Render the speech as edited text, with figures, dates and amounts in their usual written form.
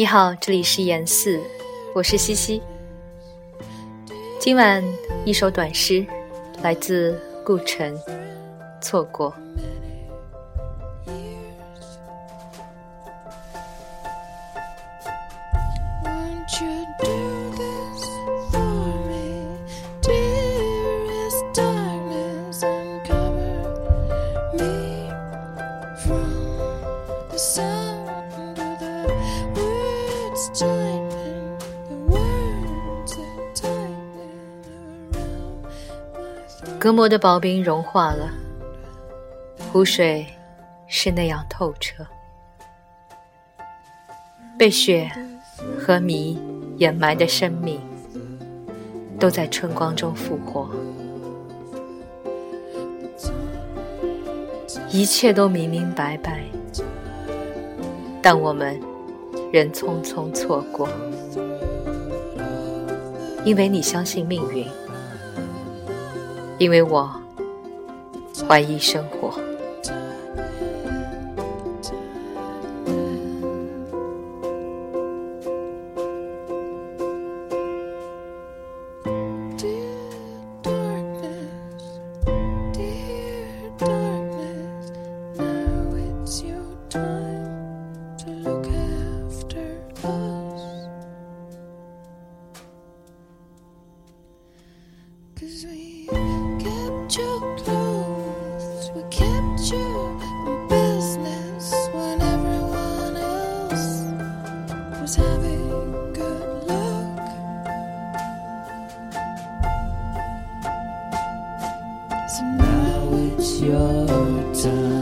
你好，这里是言四，我是西西。今晚一首短诗，来自顾城，错过。隔膜的薄冰融化了，湖水是那样透彻，被雪和迷掩埋的生命都在春光中复活，一切都明明白白，但我们仍匆匆错过，因为你相信命运，因为我怀疑生活。 So now it's your time.